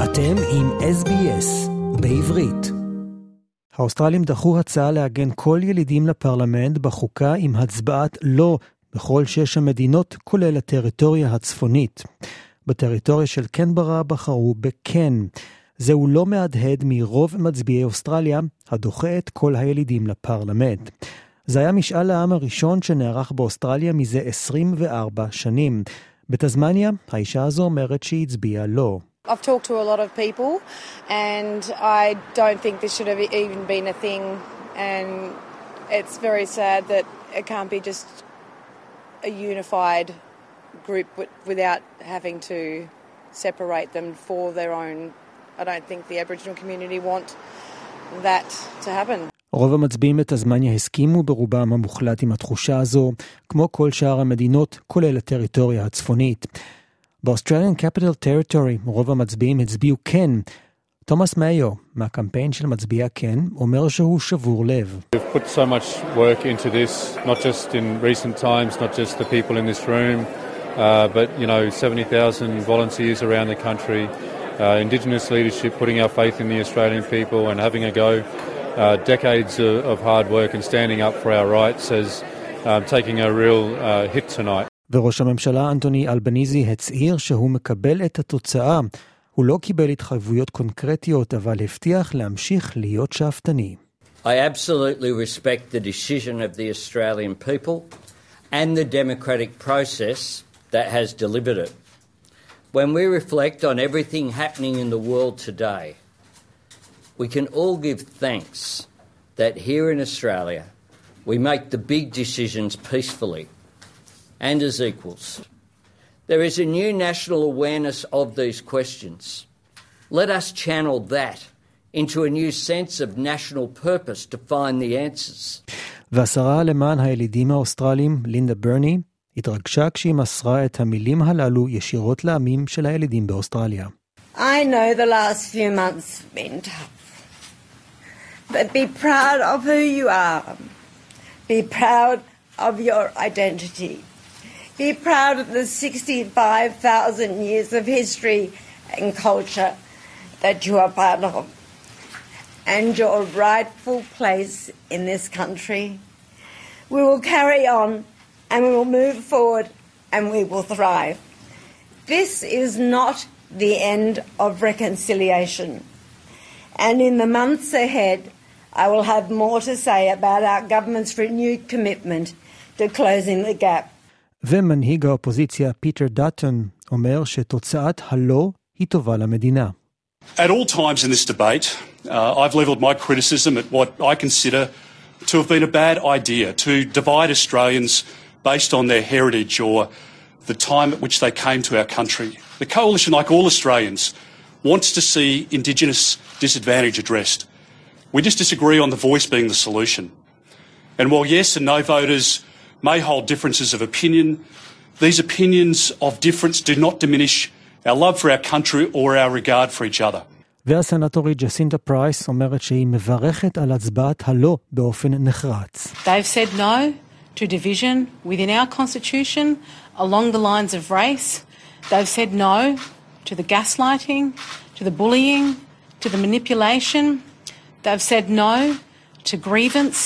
אתם עם SBS בעברית. האוסטרלים דחו הצעה לעגן כל ילידים לפרלמנט בחוקה עם הצבעת לא בכל 6 המדינות, כולל הטריטוריה הצפונית. בטריטוריה של קנברה בחרו בכן. זהו לא מהדהד מרוב מצביעי אוסטרליה הדוחה את כל הילידים לפרלמנט. זה היה משאל העם הראשון שנערך באוסטרליה מזה 24 שנים. בתזמניה, האישה הזו אומרת שהיא הצביעה לא. I've talked to a lot of people and I don't think this should have even been a thing, and it's very sad that it can't be just a unified group without having to separate them for their own. I don't think the Aboriginal community want that to happen. רוב המצביעים בתזמניה הסכימו ברובם המוחלט עם התחושה הזו, כמו כל שאר המדינות, כולל הטריטוריה הצפונית. באוסטרליאן קפיטל טריטורי רוב המצביעים הצביעו כן. תומאס מאיו, מהקמפיין של מצביעי כן, אומר שהוא שבור לב. We've put so much work into this, not just in recent times, not just the people in this room, but 70,000 volunteers around the country, Indigenous leadership, putting our faith in the Australian people and having a go. Decades of hard work and standing up for our rights as taking a real hit tonight. וראש הממשלה אנטוני אלבניזי הצהיר שהוא מקבל את התוצאה. הוא לא קיבל התחייבויות קונקרטיות, אבל הבטיח להמשיך להיות שאפתני. I absolutely respect the decision of the Australian people and the democratic process that has delivered it. When we reflect on everything happening in the world today, we can all give thanks that here in Australia we make the big decisions peacefully and as equals. There is a new national awareness of these questions. Let us channel that into a new sense of national purpose to find the answers. והשרה למען הילידים האוסטרלים, לינדה ברני, התרגשה כשהיא מסרה את המילים הללו ישירות לעמים של הילידים באוסטרליה. I know the last few months have been tough. But be proud of who you are. Be proud of your identity. Be proud of the 65,000 years of history and culture that you are part of, and your rightful place in this country. We will carry on, and we will move forward, and we will thrive. This is not the end of reconciliation. And in the months ahead, I will have more to say about our government's renewed commitment to closing the gap. ומנהיג האופוזיציה פיטר דאטון אומר שתוצאת הלא היא טובה למדינה. At all times in this debate, I've levelled my criticism at what I consider to have been a bad idea, to divide Australians based on their heritage or the time at which they came to our country. The Coalition, like all Australians, wants to see Indigenous disadvantage addressed. We just disagree on the voice being the solution. And while yes and no voters may hold differences of opinion, these opinions of difference do not diminish our love for our country or our regard for each other. והסנטורית ג'סינדה פרייס אומרת שהיא מברכת על הצבעת הלא באופן נחרץ. They've said no to division within our constitution along the lines of race. They've said no to the gaslighting, to the bullying, to the manipulation. They've said no to grievance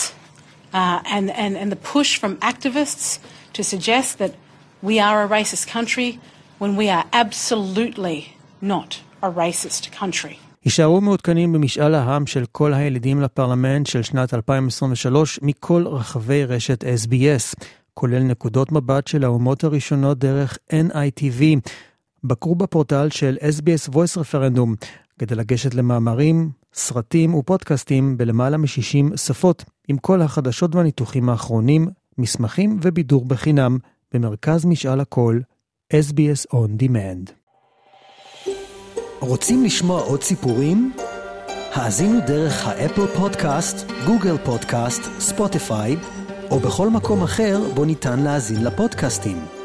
and the push from activists to suggest that we are a racist country when we are absolutely not a racist country. יישארו מעודכנים במשאל העם של כל הילידים לפרלמנט של שנת 2023 מכל רחבי רשת SBS, כולל נקודות מבט של האומות הראשונות דרך NITV. בקרו בפורטל של SBS Voice Referendum כדי לגשת למאמרים, סרטים ופודקאסטים בלמעלה מ-60 שפות, עם כל החדשות והניתוחים האחרונים, מסמכים ובידור בחינם, במרכז משאל הקול, SBS On Demand. רוצים לשמוע עוד סיפורים? האזינו דרך האפל פודקאסט, גוגל פודקאסט, ספוטיפיי, או בכל מקום אחר בו ניתן להאזין לפודקאסטים.